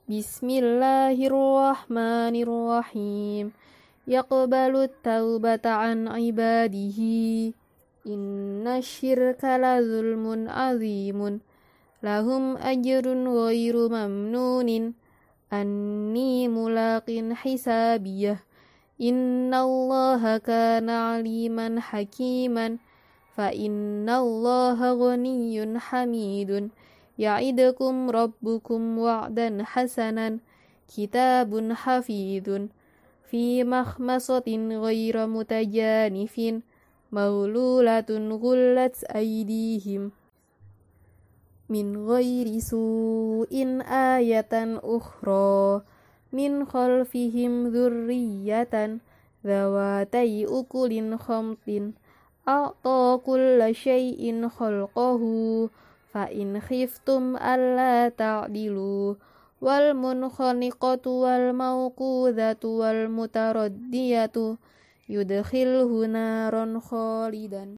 Bismillahirrahmanirrahim. Yaqbalu taubata an ibadihi. Inna syirka la zulmun azimun. Lahum ajrun ghairu mamnunin. Anni mulaqin hisabiyah. Inna allaha kana aliman hakiman. Fa inna allaha ghaniyun hamidun. Ya'idukum rabbukum wa'dan hasanan. Kitabun hafidun. Fi makhmasatin ghaira mutajanifin. Maululatun ghullat aydihim. Min ghairi su'in ayatan ukhra. Min khalfihim dhurriyatan. Dhawatai ukulin khamtin. A'ta kulla syai'in khalqahu. Fa in khiftum alla ta'dilu. Wal munkhaniqatu wal mawqudhatu wal mutaraddiyatu. Yudkhilhu naran khalidan.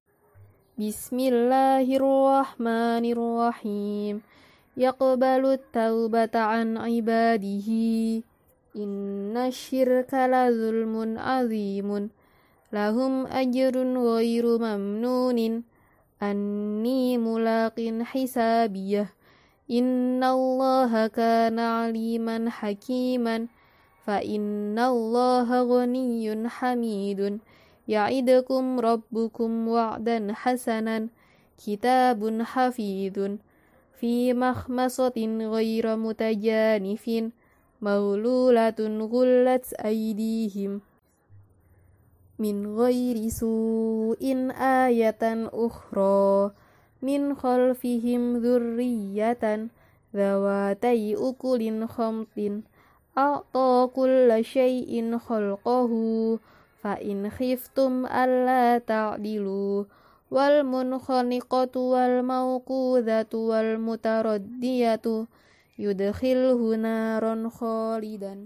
Bismillahirrahmanirrahim. Yaqbalu taubata an ibadihi. Inna syirka la zulmun azimun. Lahum ajrun ghairu mamnunin. Anni mulaqin hisabiyah. Inna allaha kana aliman hakiman. Fa inna allaha ghaniyun hamidun. Ya'idukum rabbukum wa'dan hasanan. Kitabun hafidun. Fi makhmasatin ghaira mutajanifin. Maululatun ghullat aydihim. Min ghairi su'in ayatan ukhra. Min khalfihim dhurriyatan. Dhawatai ukulin khamtin. A'ta kulla syai'in khalqahu. Fa in khiftum alla ta'dilu. Wal munkhaniqatu wal mawqudhatu wal mutaraddiyatu. Yudkhilhu naran khalidan.